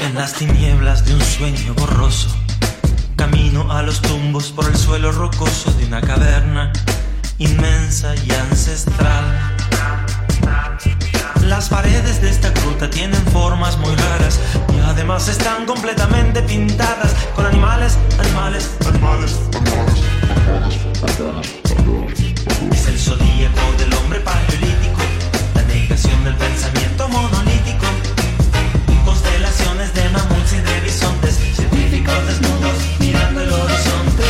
En las tinieblas de un sueño borroso, camino a los tumbos por el suelo rocoso de una caverna inmensa y ancestral. Las paredes de esta gruta tienen formas muy raras y además están completamente pintadas con animales. Es el zodíaco del hombre paleolítico, la negación del pensamiento monolítico. Constelaciones de mamuts y de bisontes, científicos desnudos mirando el horizonte.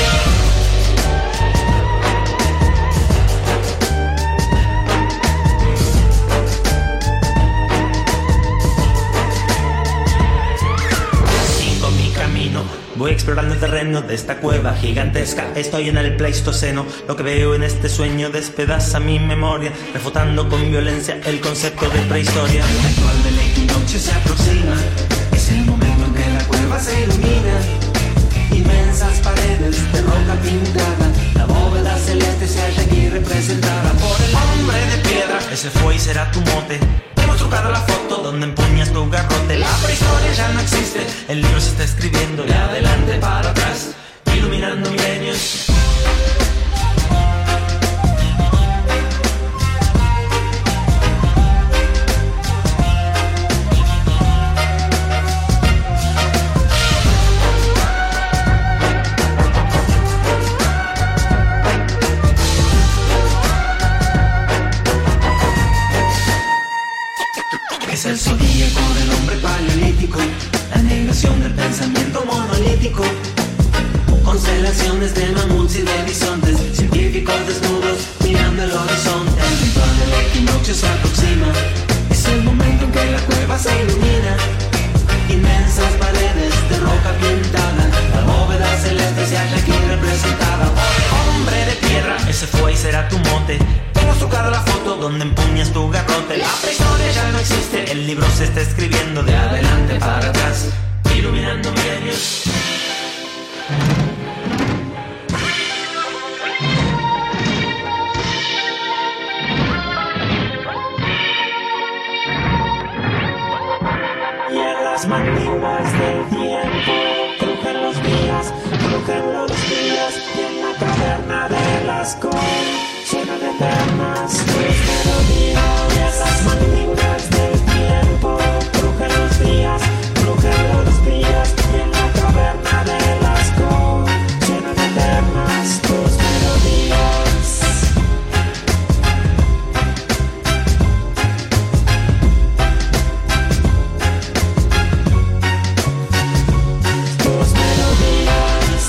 Sigo mi camino, voy explorando el terreno de esta cueva gigantesca. Estoy en el Pleistoceno. Lo que veo en este sueño despedaza mi memoria, refutando con violencia el concepto de prehistoria. El ritual del equinoccio se aproxima. Es el momento en que la cueva se ilumina. Inmensas paredes de roca pintada, la bóveda celeste se halla aquí representada por el hombre de piedra. Ese fue y será tu mote. Hemos trucado la foto donde empuñas tu garrote. La prehistoria ya no existe, el libro se está escribiendo de adelante para atrás, iluminando milenios. Es el zodíaco del hombre paleolítico, la negación del pensamiento monolítico. Constelaciones de mamuts y de bisontes, científicos desnudos mirando el horizonte. El ritual del equinoccio se aproxima. Es el momento en que la cueva se ilumina. Inmensas paredes de roca pintada, la bóveda celeste se halla aquí representada por el hombre de piedra. Ese fue y será tu mote. Hemos trucado la foto donde empuñas tu garrote. La prehistoria ya no existe, el libro se está escribiendo de adelante para atrás, iluminando milenios. Y en las mandíbulas del tiempo crujen los días, y en la caverna de las suenan eternas tus melodías. Y esas mandíbulas del tiempo crujen los días, y en la caverna de las suenan eternas tus melodías. Tus melodías.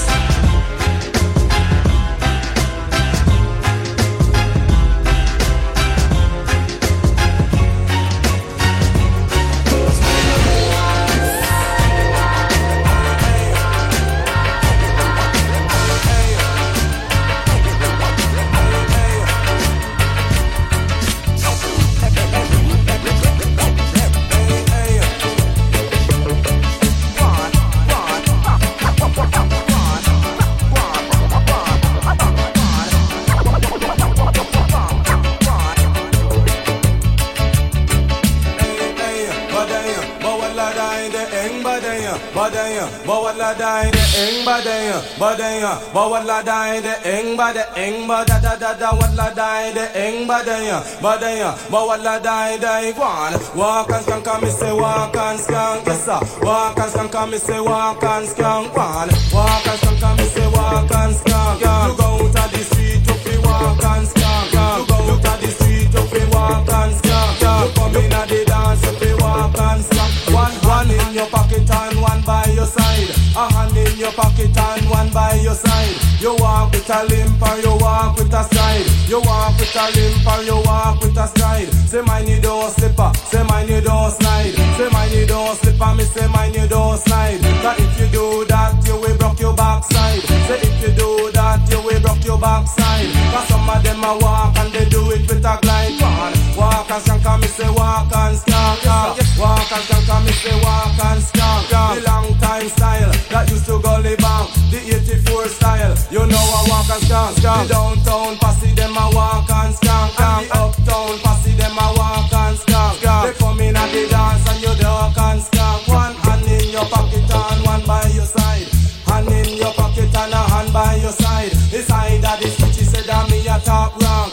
Bawadladai de eng ba da da da da wadladai de eng ba da bawadladai de one walk and skank me say walk and skank yes sir walk and skank me say walk and skank one walk and skank me say walk and skank you go to the street to fi walk and skank you go to the street to fi walk and skank you come in at the dance to fi walk and skank one in your pocket and one by your side, a hand in your pocket and one by your side. You walk with a limp or you walk with a stride. You walk with a limp or you walk with a stride. Say mine you don't slipper, say mine you don't slide. Say mine you don't slipper, me say mine you don't slide. Cause if you do that, you will broke your backside. Say if you do that, you will broke your backside. Cause some of them a walk and they do it with a glide. Walk and skank, me say walk and skank. Walk and skank, me say walk and skank. The long time style that used to go live on. The 84 style, you know I walk and skank. The downtown posse them a walk and skank. And the uptown posse them a walk and skank. They come in at the dance and you duck and skank. One hand in your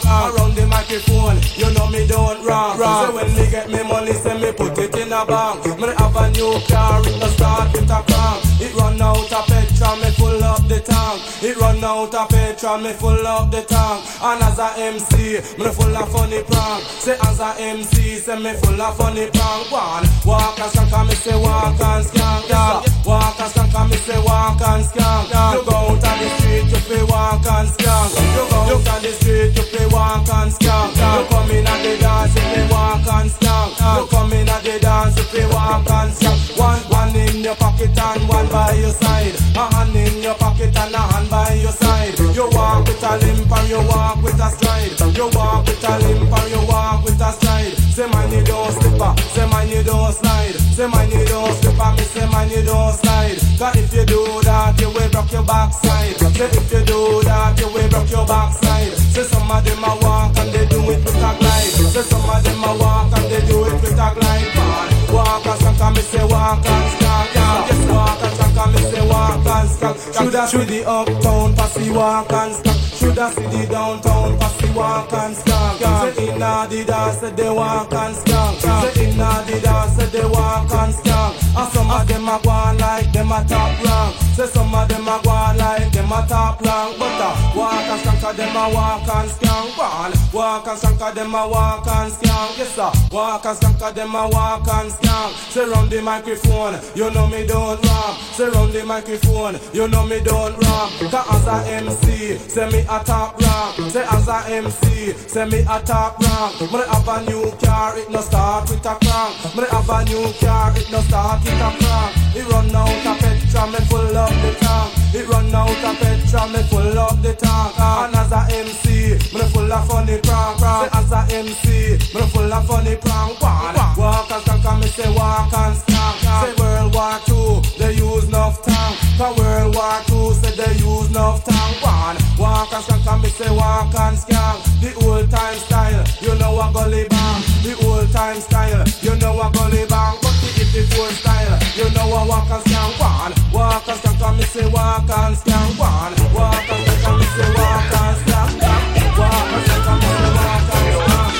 Around the microphone, you know me don't wrong. So when me get me money, say me put it in a bank. Me have a new car, it no start with a crank. It run out of petrol, me full up the tank. It run out of petrol, me full up the tank. And as a MC, me full of funny prank. Say as a MC, say me full of funny prank. One, walk and skank, me say walk and skank. Walk and skank, me say walk and skank. You go out on the street, you play walk and skank. You go out on the street, you play walk and skank. You come in at the dance, you play walk and skank. You come in at the dance, you play walk and skank. One in your pocket and one by your side. A hand in your pocket and a hand by your side. You walk with a limp and you walk with a stride. You walk with a limp and you walk with a stride. Say man you don't slipper, say man you don't slide. Say man you don't slipper, me say man you don't slide. Cause if you do that, you will broke your backside. Say if you do that, you will broke your backside. Say some of them a walk and they do it with a glide. Say some of them a walk and they do it with a glide. Walk and skank and me say walk and skank. Yes, walk and skank and me say walk and skank. Shoulda see the uptown posse walk and skank. Shoulda see the downtown posse walk and skank. Say inna the dance say they walk and skank. Say inna the dance say they walk and skank. And some of them a go on like them a top rank. Say some of them a go on like them a top rank. But walk and skank them a walk and skank. Walk and skank them a walk and skank. Yes sir, walk and skank them a walk and skank. Say round the microphone, you know me don't rap. Say round the microphone, you know me don't rap. Cause as a MC, say me a top rank. Say as a MC, say me a top rank. Me have a new car, it no start with a crank. Me have a new car, it no start with a crank. It run out of petrol, me full up the tank. It run out of petrol, me full up the tank. And as a MC, me full of funny prank. Say as a MC, me full of funny prank. Walk and skank, me say walk and skank. Say World War II, they use enough tank. Cause World War II said they use enough tank. Walk and skank, me say walk and skank. The old time style, you know a gully bang. The old time style, you know a gully bang. But the 84 style, you know a walk and skank. Walk and skank, me say walk and skank. Walk and skank, me say walk and skank. Walk and skank, me say walk and skank.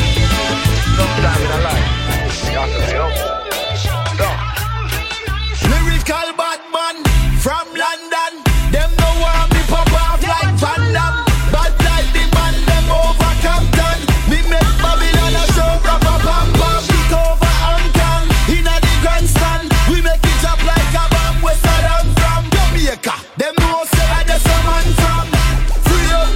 Sometime in a life, you have to be humble. Lyrical bad man from London. Them no want me pop off like Van Damme. Bad like the man, them over Compton. Me make Babylon a show, papa pam pam. Kick over Hong Kong, inna the grandstand. We make it up like a bomb. Where Saddam from Jamaica. Them know say I just a man from. Free up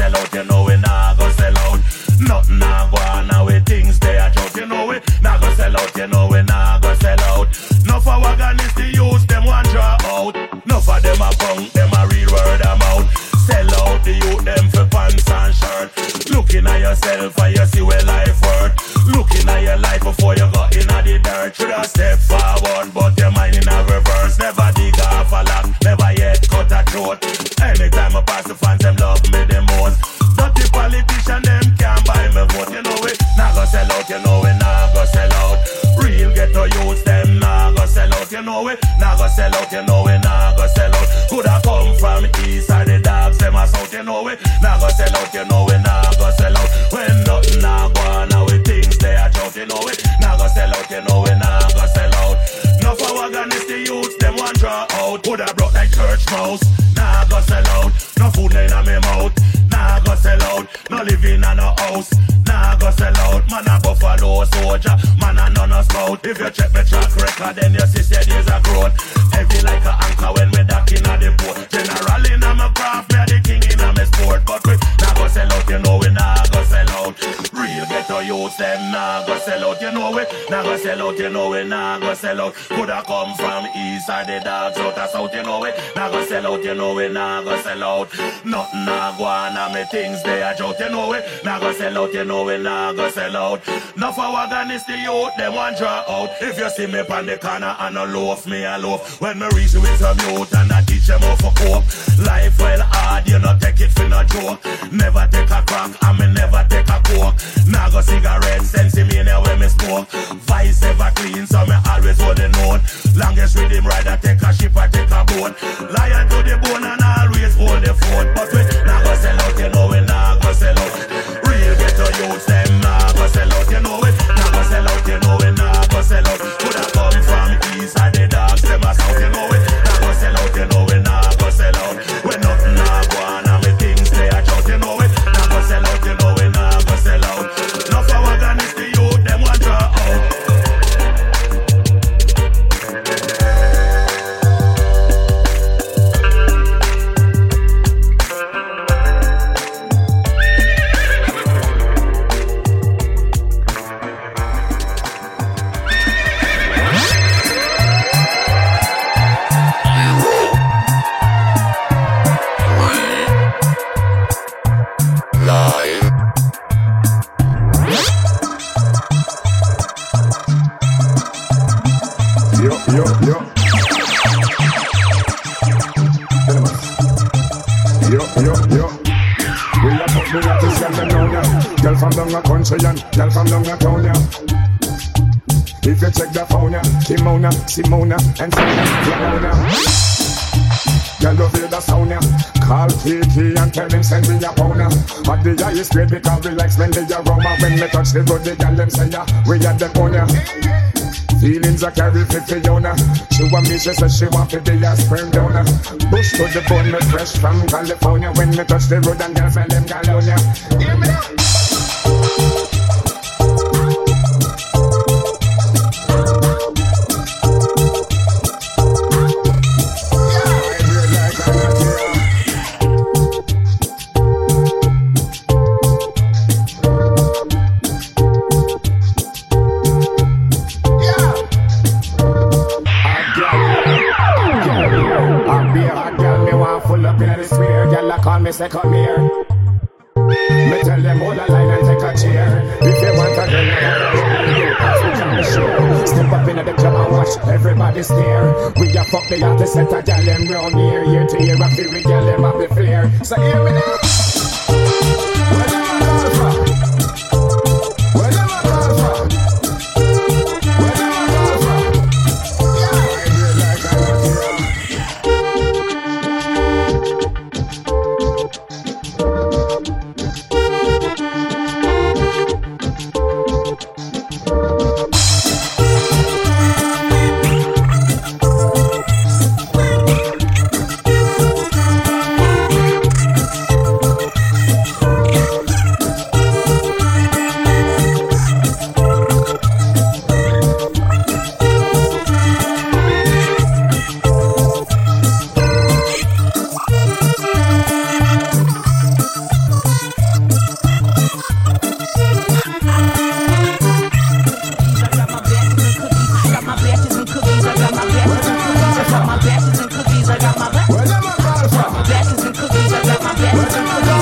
sell out, you know we nah go sell out. Nothing nah go on now with things they are joke, you know we nah go sell out, you know we nah go sell out. No for wagon is the use, them one draw out. No for them a punk, them a real word of mouth. Sell out the youth, them for pants and shirt. Looking at yourself and you see where life worth. Looking at your life before you got in the dirt. Should have step forward, but your mind in a reverse. Never dig off a lock, never yet cut a throat. Anytime I pass the fans, them love me the most. Dirty politician, them can't buy me vote. You know it, nah go sell out, you know it, nah go sell out. Real ghetto youths, them nah go sell out, you know it, nah go sell out, you know it, nah go sell out. Coulda come from east side, the dogs, them a south, you know it, nah go sell out, you know it, nah go sell out. When nothing nah go on, now with things they are joke, you know it, nah go sell out, you know it, nah go sell out. No for wagon is the youths, them one draw out. Coulda broke like church mouse, nah go sell out. No food in my mouth, nah go sell out. No living in no house, nah go sell out. Man a buffalo soldier, man a none of scout. If you check my track record, then you see there's a growth. Heavy like a anchor when we dock in the port. General in my craft, me a the king in my sport. But we nah go sell out, you know we nah go sell out. Real ghetto youths, them nah go sell out, you know we nah go sell out, you know we nah go sell out. Coulda come from east side, the dogs out of south, you know we nah go sell out, you know we nah go sell out. Nothing nah go on, and me things they are joke, you know we nah go sell out, you know we nah go sell out. No for wagon is the youth, them one draw out. If you see me on the corner and a loaf, me a loaf. When me reach with some youth and I teach them how for cope. Life well hard, you not take it for no joke. Never take a crack, and me never take a coke. Nah go cigarette, sensimania when me smoke. Vice ever clean, so me always hold the note. Longest rhythm rider, take a ship or take a boat. Lion to the bone and always hold the fort. But we nah go sell out, you know we nah go sell out. Real ghetto youths, them nah go sell out, you know we nah go sell out, you know we nah go sell out. Coulda come from east and the dogs, them a south, you know we nah go sell out, you know we nah go sell out. When nothing nah go on and me things they a shout, you know we nah go sell out, you know we nah go sell out. No for wagon is the youth, them want draw out. Girl from down a country and girl from down a town, yeah. If you check the phone, yeah, Kimona, Simona, and Fiona. Girl, you hear the sound, yeah. Call Kiki and tell him send me a pound, yeah. But the eye is straight because we like spend the aroma. When me touch the road, the girl them say, yeah, we at the corner. Feelings I carry for Fiona. She want me, she says she want to be a sperm donor. Bush to the bone, me fresh from California. When me touch the road and girls and them California. Hear me now. Say come here. Me tell them hold a line and take a chair. If you want a girl, step up in the club and watch everybody stare. We a fuck the artist set a gal them round here. Year to year, I feel we gal them have the flair. So hear me now. Where them a call from? Where them a call from? Where them a call from? Yeah, I feel like I'm a hero.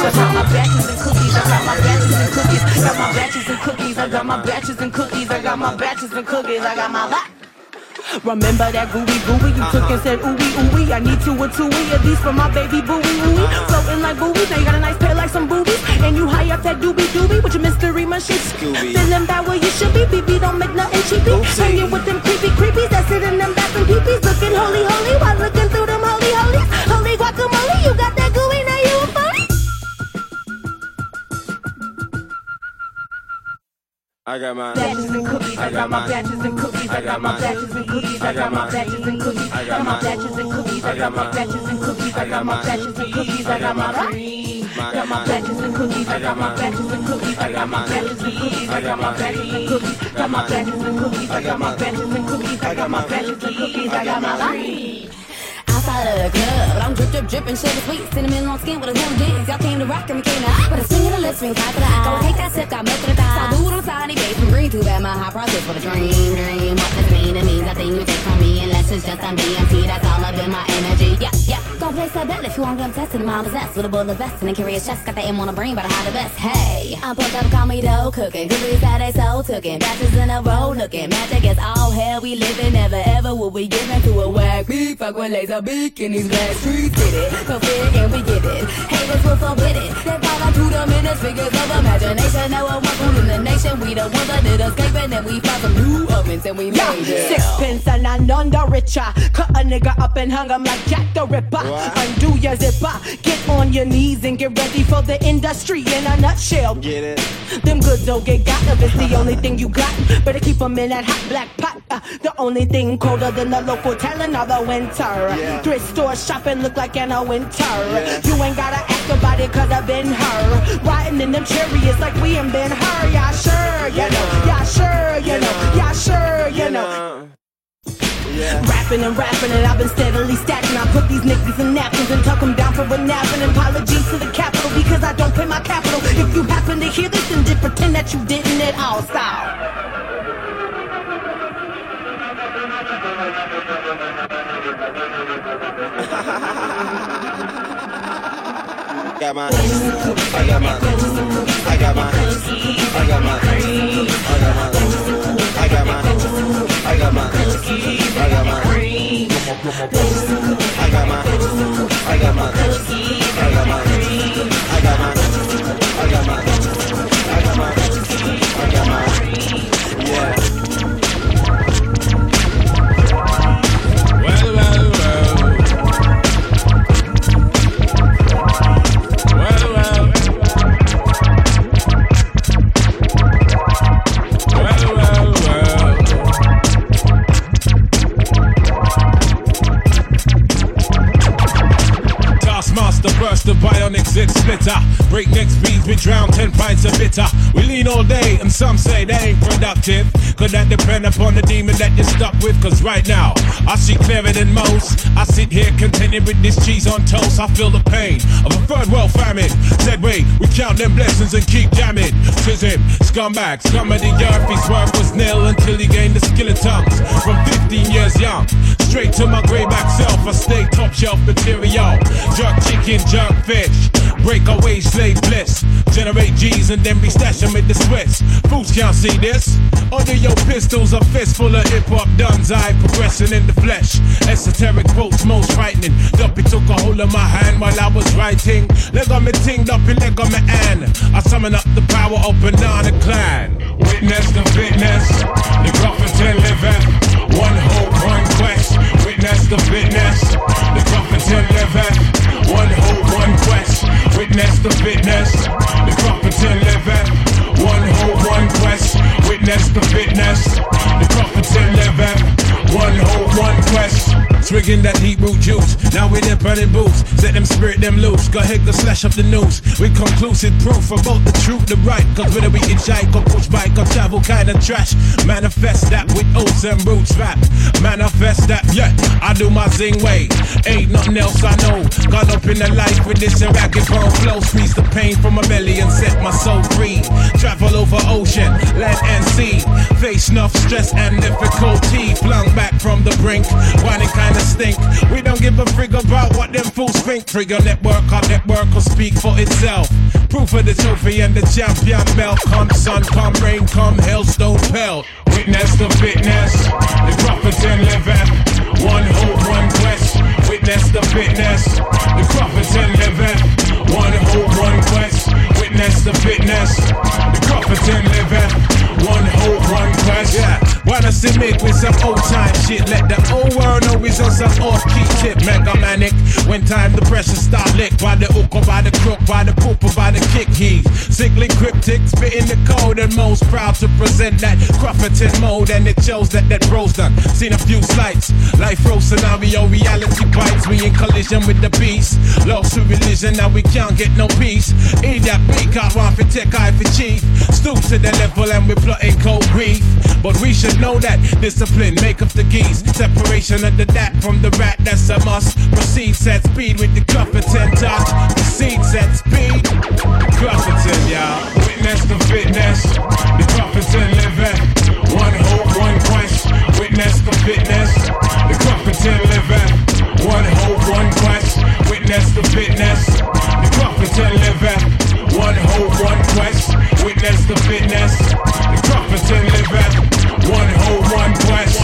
I got my batches and cookies. I got my batches and cookies. Got my batches and cookies. I got my batches and cookies. I got my batches and cookies. I got my Remember that gooey you took and said ooey. I need 2 or 2 of these for my baby booey. Floating like boobies, now you got a nice pair like some boobies. And you high up that doobie with your mystery machine. Feeling bad where you should be, BB don't make nothing cheapy. Hanging with them creepies that sit in them bathroom peepees. Looking holy while looking through them holy. Holy guacamole, you got that gooey, now you a phony. I got my batches and cookies. I got my batches and cookies. I got my batches and cookies. I got my batches and cookies. I got my batches and cookies. I got my batches and cookies. I got my batches and cookies. I got my got my batches and cookies. I got my batches and cookies. I got my batches and cookies. I got my batches and cookies. Got my batches and cookies. I got my batches and cookies. I got my batches and cookies. I got my outside of the club, but I'm drippin', sugar sweet, cinnamon on skin with a little dance. Y'all came to rock and we came to hot, but a swing of the lips, ring high to the eye. Go take that sip, got milk to the thigh. So do it on tiny base from green, too bad my high process for the dream. What does it mean? It means nothing you take from me unless it's just on DMT. That's all up in my energy. Yeah. Gon' place that bet if you want to test it. I'm possessed with a bullet vest and a curious chest. Got the M on the brain, but I hide the best. Hey, I'm pumped up, call me dough cooking. Cookies that they so tookin'. Batches in a row looking. Magic is all hell we living. Never ever will we give in to a whack beat. Fuck with laser beak in these black streets. Get it, go fit and we get it. Haters will forbid it. They follow to the minutes, figures of imagination. Now one food in the nation. We the ones that did escaping and we found some new ovens and we made it. Sixpence and I'm none the richer. Cut a nigga up and hung him like Jack the Ripper. Undo your zipper. Get on your knees and get ready for the industry in a nutshell. Get it? Them goods don't get got if it's the only thing you got. Better keep them in that hot black pot. The only thing colder than the local telling of the winter. Thrift store shopping look like in a winter. You ain't gotta ask about it cause I've been her. Riding in them chariots like we ain't been her. Yeah, sure, you know. Yeah, sure, you know. Yeah, sure, you know. Rapping and I've been steadily stacking. I put these niggas in napkins and tuck them down for a nap. And apologies to the capital because I don't pay my capital. If you happen to hear this, then just pretend that you didn't at all. Style. got my, I got my, I got my, I got my, I got my, I got my, I got my, I got my, I got my, I got my, I got my, I got my, I got my, I got my, yeah. The bionic zit splitter, breakneck speeds, we drown 10 pints of bitter. We lean all day and some say that ain't productive. Could that depend upon the demon that you're stuck with? Cause right now, I see clearer than most. I sit here contented with this cheese on toast. I feel the pain of a third world famine. Said wait, we count them blessings and keep jamming. Tis him, scumbag, scum of the earth. His work was nil until he gained the skill of tongues. From 15 years young, straight to my greyback self, I stay top shelf material. Jerk chicken, jerk fish, breakaway slave bliss. Generate G's and then be stashing with the Swiss. Fools can't see this. Under your pistols, a fist full of hip-hop duns. I progressing in the flesh. Esoteric quotes most frightening. Duppy took a hold of my hand while I was writing. Leg on me ting, Duppy leg on me hand. I summon up the power of Banana Clan. Witness the fitness, the Cofferton liveth. One hope, one quest. Witness the fitness, the Cofferton liveth. One hope, one quest. Witness the fitness, the Cofferton liveth. One hope, one quest. Witness the fitness, the Cofferton liveth. One hope, one quest. Swigging that heat root juice. Now we dip burning boots. Set them spirit them loose. Go ahead, go slash up the news. With conclusive proof about the truth, the right. Cause whether we hitchhike or push bike or travel kind of trash. Manifest that with oats and roots rap. Manifest that, yeah, I do my zing way. Ain't nothing else I know. Got up in the life with this and ragged bone flow. Squeeze the pain from my belly and set my my soul free. Travel over ocean, land and sea. Face enough stress and difficulty. Flung back from the brink, whining kinda stink. We don't give a frig about what them fools think. Trigger network, our network will speak for itself. Proof of the trophy and the champion belt. Come sun, come rain, come hailstone pelt. Witness the fitness, the prophets and liveth. One hope, one quest. Witness the fitness, the prophets and liveth. One hope, one quest. Witness the fitness, the prophets and liveth. One hope, one quest. Yeah, wanna see me with some old time shit. Let the whole world know it's on some off-key tip. Mega manic, when time the pressure start lick. By the hook or by the crook, by the poop or by the kick. He's sickly cryptic, spitting the code and most proud to present that Crofferton mode. And it shows that bro's done. Seen a few slights, life row scenario, reality bites. We in collision with the beast. Lost to religion, now we can't get no peace. Eat that beat, can't want for tech, eye for chief. Stoop to the level and we're plotting cold grief. But we should know that discipline make up the geese. Separation of the dat from the rat, that's a must. Proceed, set speed with the Crofferton touch. Proceed, set speed. Crofferton, y'all. Witness the fitness. The Crofferton living. One hope, one quest. Witness the fitness. The Crofferton living. One hope, one quest. Witness the fitness. The Crofferton living. One hope, one quest. Witness the fitness. The Crofferton living. One hope, one quest.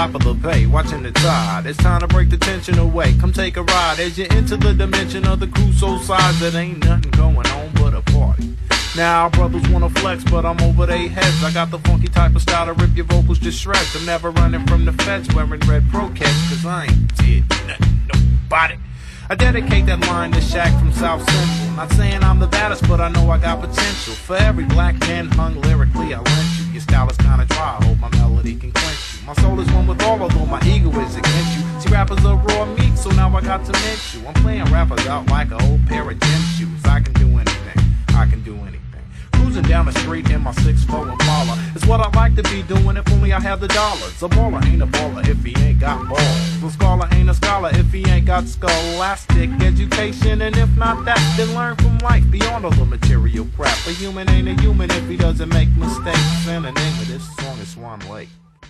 top of the bay, watching the tide. It's time to break the tension away. Come take a ride as you enter the dimension of the Crusoe size. That ain't nothing going on but a party. Now brothers wanna flex, but I'm over their heads. I got the funky type of style to rip your vocals to shreds. I'm never running from the feds wearing red pro caps, cause I ain't did nothing, nobody. I dedicate that line to Shaq from South Central. Not saying I'm the baddest, but I know I got potential. For every black man hung lyrically, I lent you. Your style is kinda dry, I hope my melody can quench you. My soul is one with all, although my ego is against you. See, rappers are raw meat, so now I got to mint you. I'm playing rappers out like a whole pair of gym shoes. I can do anything, I can do anything. Cruising down the street in my 6'4" Impala. It's what I like to be doing if only I had the dollars. A baller ain't a baller if he ain't got balls. A scholar ain't a scholar if he ain't got scholastic education. And if not that, then learn from life beyond all the material crap. A human ain't a human if he doesn't make mistakes. And the name of this song is Swan Lake.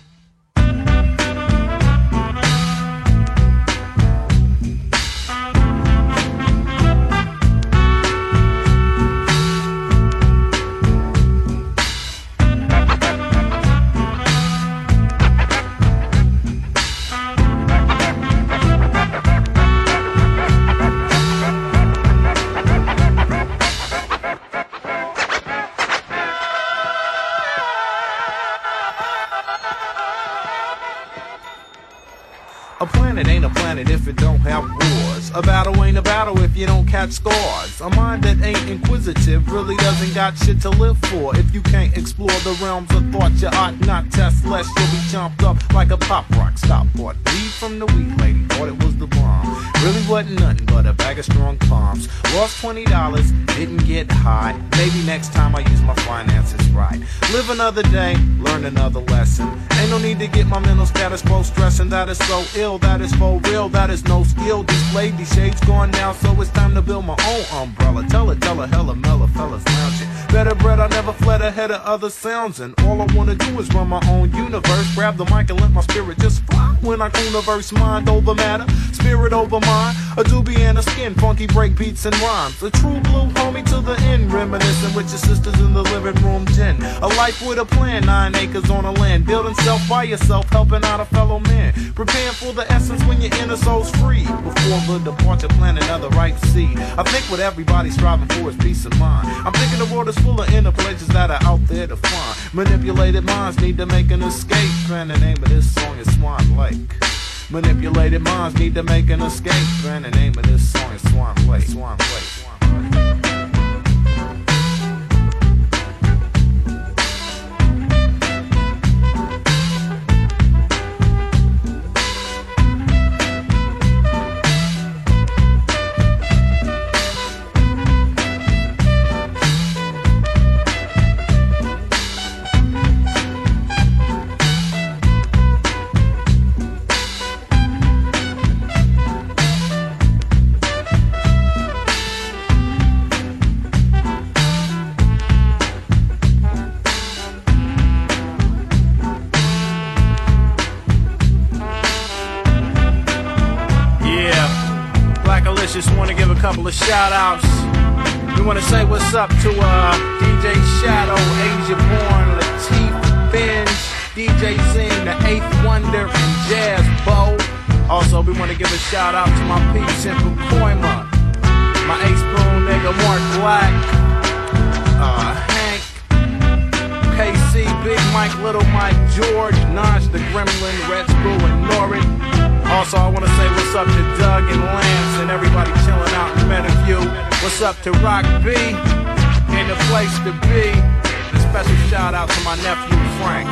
A planet ain't a planet if it don't have wars. A battle ain't a battle if you don't catch scars. A mind that ain't inquisitive really doesn't got shit to live for. If you can't explore the realms of thought, you ought not test, lest you'll be chomped up like a pop rock. Stop bought weed from the weed lady, thought it was the bomb. Really wasn't nothing but a bag of strong palms. Lost $20, didn't get high. Maybe next time I use my finances right. Live another day, learn another lesson. Ain't no need to get my mental status quo stressing. That is so ill, that is for real, that is no skill displayed. These shades gone now, so it's time to build my own umbrella. Tell her, hella mellow fellas lounging. Better bread, I never fled ahead of other sounds. And all I wanna do is run my own universe. Grab the mic and let my spirit just fly. When I universe, mind over matter, spirit over mind. A doobie and a skin, funky break beats and rhymes. A true blue homie to the end, reminiscing with your sisters in the living room gin. A life with a plan, 9 acres on a land. Building self by yourself, helping out a fellow man. Preparing for the essence when your inner soul's free. Before the departure, plant another ripe seed. I think what everybody's striving for is peace of mind. I'm thinking the world is full of inner pleasures that are out there to find. Manipulated minds need to make an escape. And the name of this song is Swan Lake. Manipulated minds need to make an escape. And the name of this song is Swan Lake. Swan Lake. Just want to give a couple of shout outs. We want to say what's up to DJ Shadow, Asia Born, Latif, Binge, DJ Zing, the 8th Wonder, and Jazz Bo. Also, we want to give a shout out to my peeps in Pacoima, my Ace-Spoon nigga Mark Black, Hank, KC, Big Mike, Little Mike, George, Naj the Gremlin, Red Screw, and Norrin. Also, I want to say what's up to Doug and Lance and everybody chilling out in Meadowview. What's up to Rock B and the place to be. And a special shout out to my nephew Frank.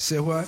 Say what?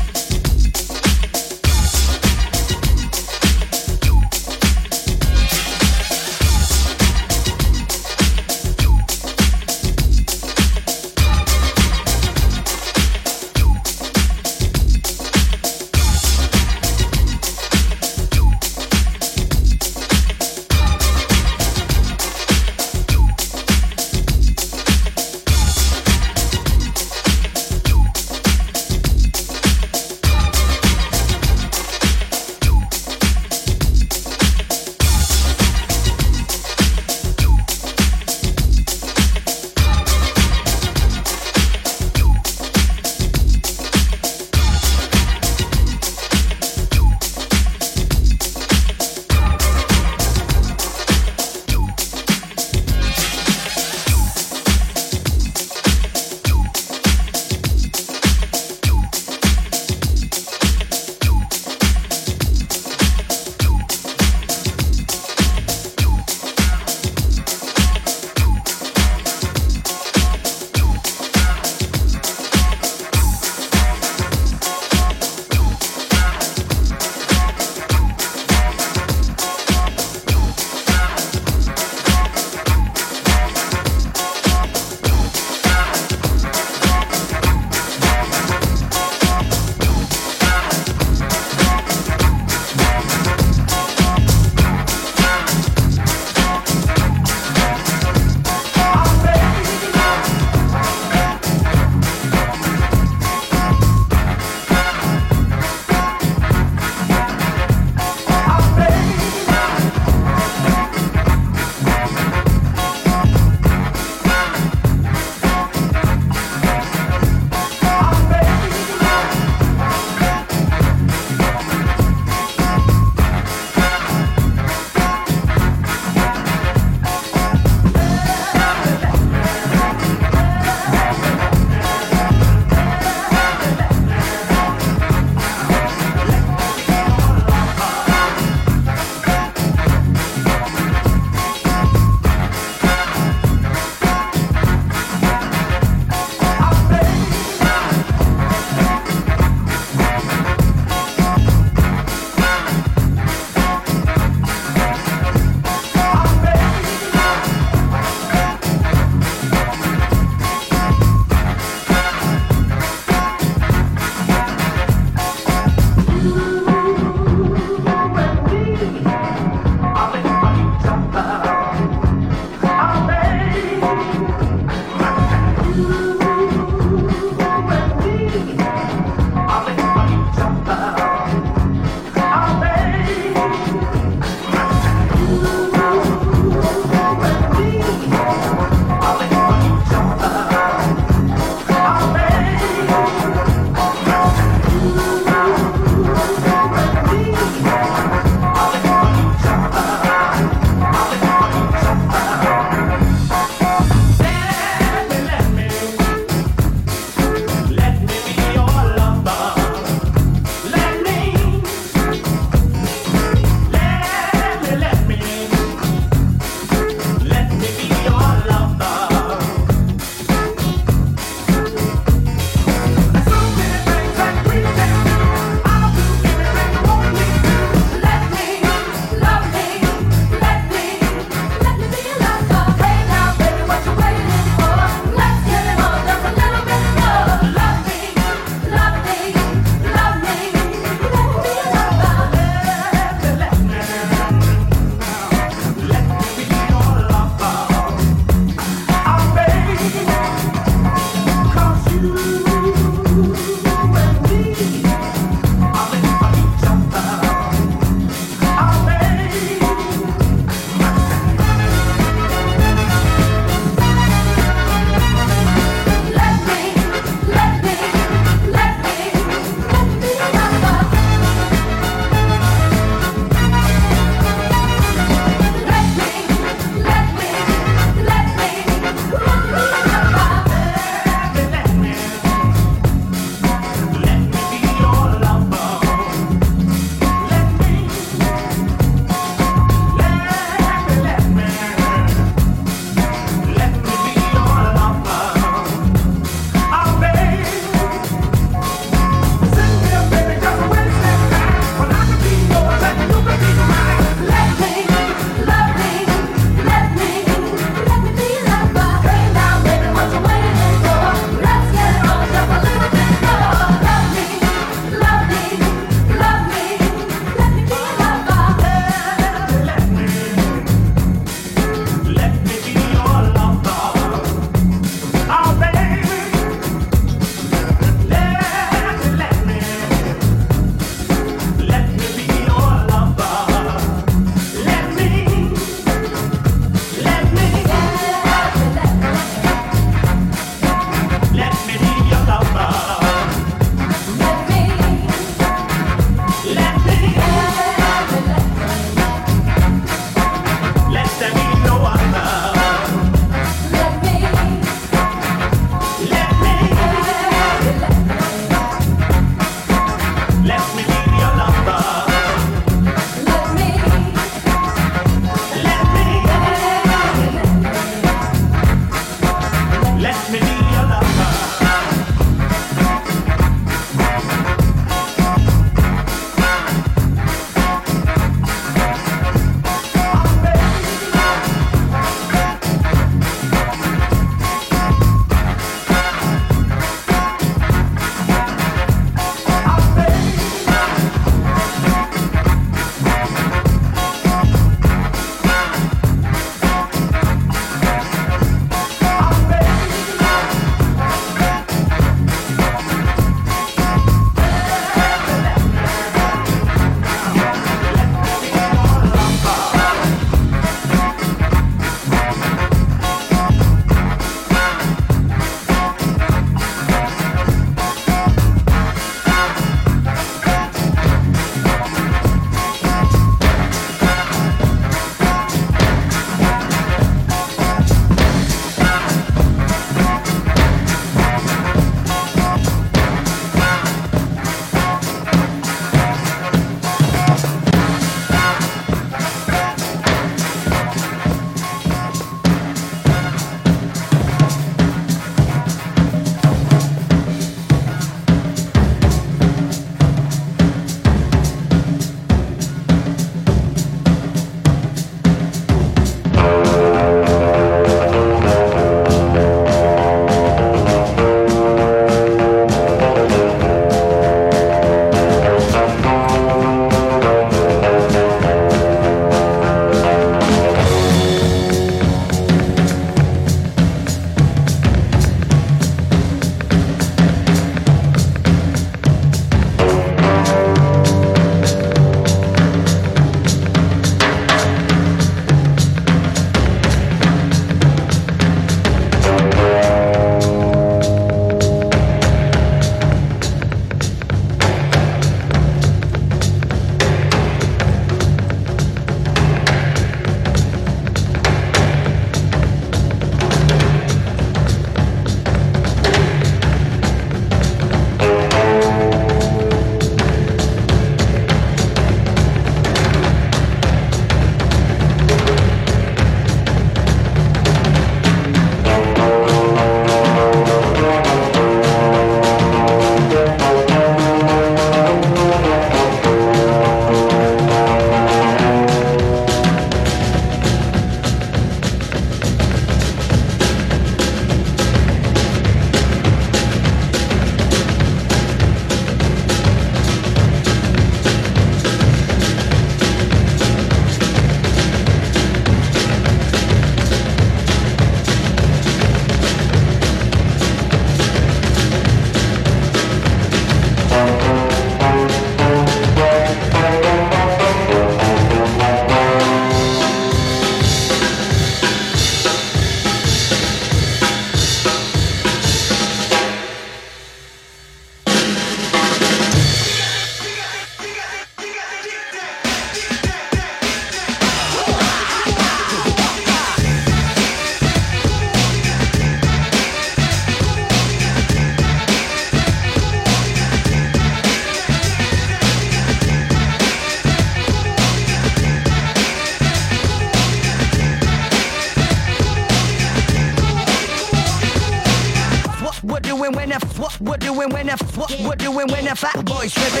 doing when the what we're doing when the what we're doing when the fat boys tripping.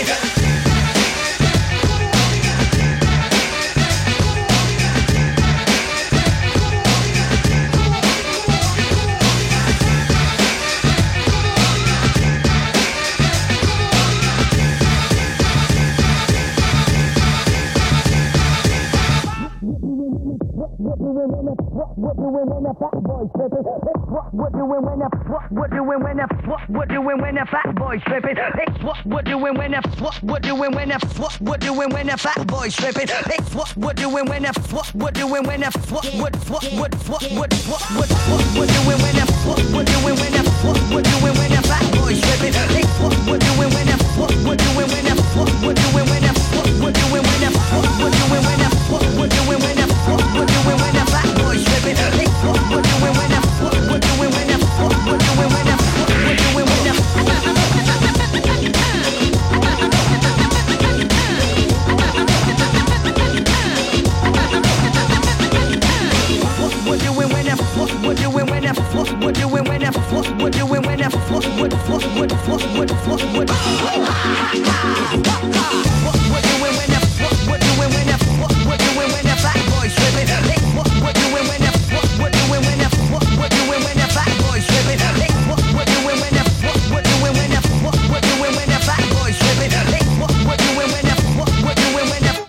What doing when the fat boys tripping? What doing when the what doing when the what doing when the fat boys tripping? What doing when the what doing when the what doing when the fat boys tripping? What doing when the what doing when the what doing when the what doing when the what doing when the fat boys tripping? What doing when the what doing when the what doing when the what doing when the what doing when the what doing when the what doing when the fat boys tripping? What doing when the what doing when the what doing when the what doing when the what doing when the what doing when the what doing when the what doing when the what doing when the fat boys tripping? What doing when the what doing when the what doing when the fat boys tripping? What doing when the what doing when the what doing when the fat boys tripping? What doing when the what doing when the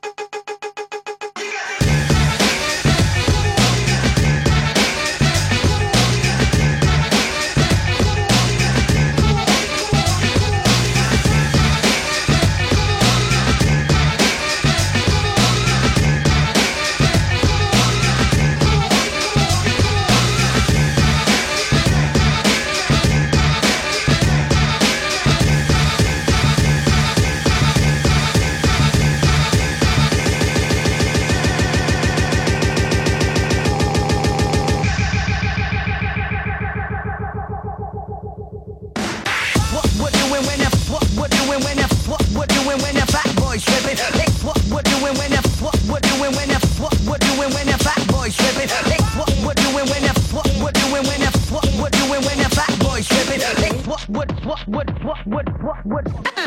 what doing when the fat boys tripping? What doing when the what doing when the what doing when the fat boys tripping? What doing when the what doing when the what doing when the fat boys tripping? What